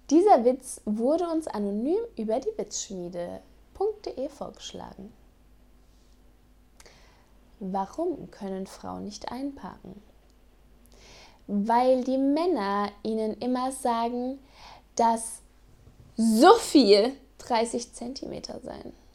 Dieser Witz wurde uns anonym über die Witzschmiede.de vorgeschlagen. Warum können Frauen nicht einparken? Weil die Männer ihnen immer sagen, dass so viel 30 cm seien.